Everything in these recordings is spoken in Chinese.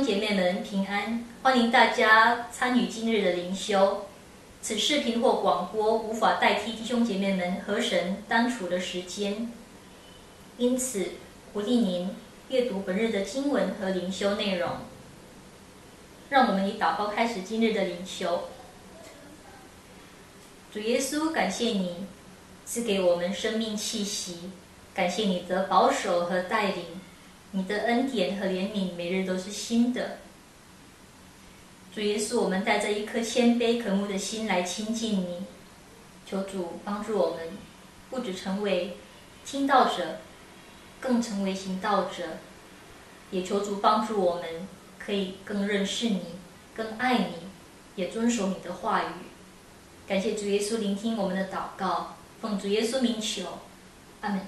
兄姐妹们平安，欢迎大家参与今日的灵修。此视频或广播无法代替弟兄姐妹们和神单处的时间，因此鼓励您阅读本日的经文和灵修内容。让我们以祷告开始今日的灵修。主耶稣，感谢你赐给我们生命气息，感谢你的保守和带领，你的恩典和怜悯每日都是新的。主耶稣，我们带着一颗谦卑渴慕的心来亲近你，求主帮助我们，不只成为听道者，更成为行道者，也求主帮助我们可以更认识你，更爱你，也遵守你的话语。感谢主耶稣聆听我们的祷告，奉主耶稣名求，阿们。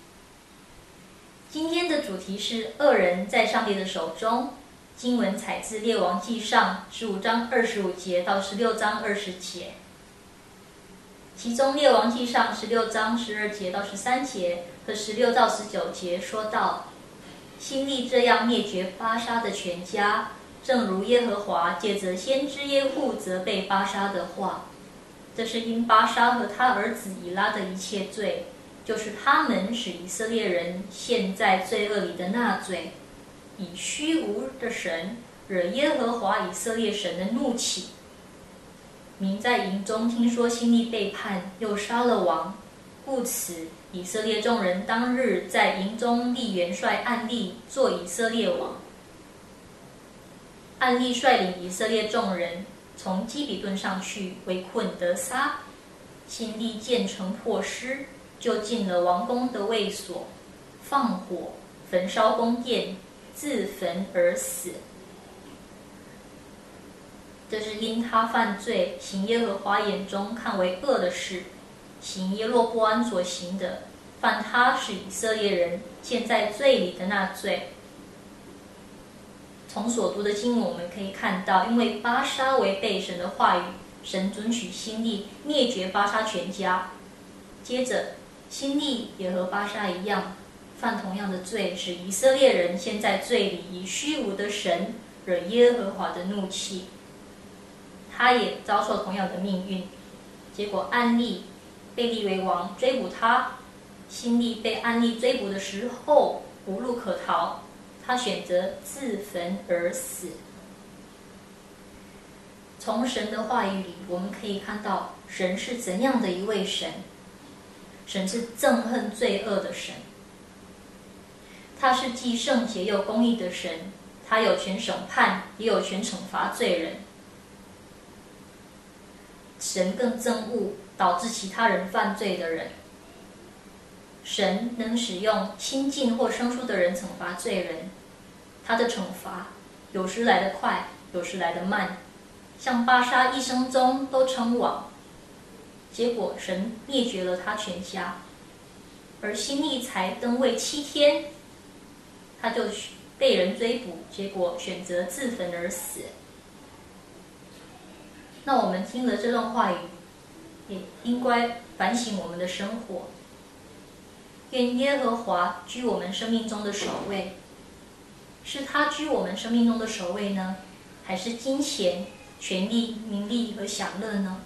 今天的主题是恶人在上帝的手中，经文采自列王纪上15章25节到16章20节，其中列王纪上16章12节到13节和16到19节说到，希利这样灭绝巴沙的全家，正如耶和华借着先知耶户责备巴沙的话，这是因巴沙和他儿子以拉的一切罪，就是他们使以色列人陷在罪恶里的那罪，以虚无的神惹耶和华以色列神的怒气。民在营中听说希利背叛，又杀了王，故此以色列众人当日在营中立元帅暗利做以色列王。暗利率领以色列众人从基比顿上去围困得撒，希利见城破失，就进了王宫的卫所，放火焚烧宫殿，自焚而死。这是因他犯罪，行耶和华眼中看为恶的事，行耶罗波安所行的，犯他使以色列人陷在罪里的那罪。从所读的经文我们可以看到，因为巴沙违背神的话语，神准许希利灭绝巴沙全家。接着希利也和巴沙一样，犯同样的罪，使以色列人陷在罪里，以虚无的神惹耶和华的怒气。他也遭受同样的命运，结果暗利被立为王，追捕他。希利被暗利追捕的时候无路可逃，他选择自焚而死。从神的话语里，我们可以看到神是怎样的一位神。神是憎恨罪恶的神，他是既圣洁又公义的神，他有权审判，也有权惩罚罪人。神更憎恶导致其他人犯罪的人。神能使用亲近或生疏的人惩罚罪人，他的惩罚有时来得快，有时来得慢，像巴沙一生中都称王，结果神灭绝了他全家。而希利才登位7天，他就被人追捕，结果选择自焚而死。那我们听了这段话语，也应该反省我们的生活。愿耶和华居我们生命中的首位，是他居我们生命中的首位呢，还是金钱、权力、名利和享乐呢？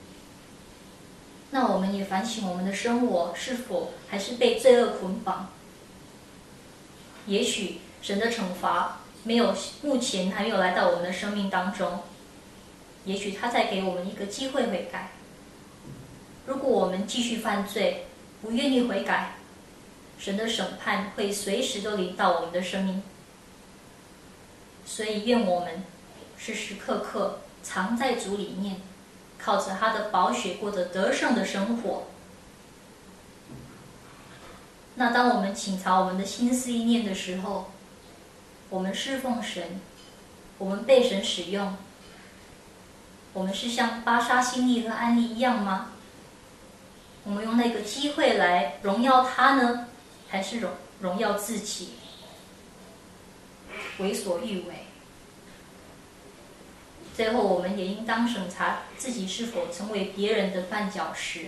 那我们也反省我们的生活是否还是被罪恶捆绑。也许神的惩罚目前还没有来到我们的生命当中，也许他在给我们一个机会悔改。如果我们继续犯罪，不愿意悔改，神的审判会随时都临到我们的生命。所以愿我们时时刻刻藏在主里面，靠着他的宝血过着得胜的生活。那当我们倾巢我们的心思意念的时候，我们侍奉神，我们被神使用，我们是像巴沙、希利和暗利一样吗？我们用那个机会来荣耀他呢，还是荣耀自己，为所欲为？最后我们也应当审查自己是否成为别人的绊脚石。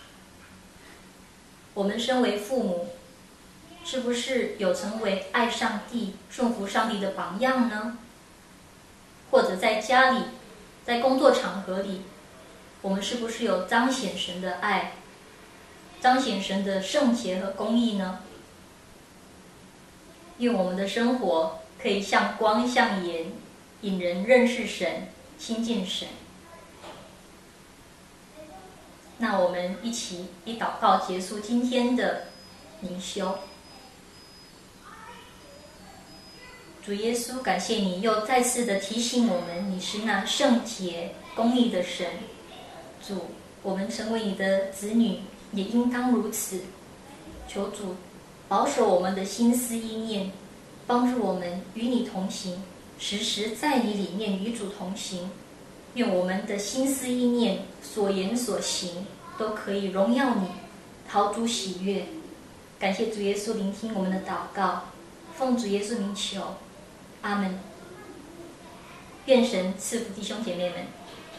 我们身为父母，是不是有成为爱上帝、顺服上帝的榜样呢？ 或者在家里，在工作场合里，我们是不是有彰显神的爱，彰显神的圣洁和公义呢？愿我们的生活可以像光像盐，引人认识神，亲近神。那我们一起以祷告结束今天的灵修。主耶稣，感谢你又再次的提醒我们，你是那圣洁公义的神。主，我们成为你的子女，也应当如此。求主保守我们的心思意念，帮助我们与你同行，时时在你里面与主同行。愿我们的心思意念、所言所行都可以荣耀你，讨主喜悦。感谢主耶稣聆听我们的祷告，奉主耶稣名求，阿们。愿神赐福弟兄姐妹们。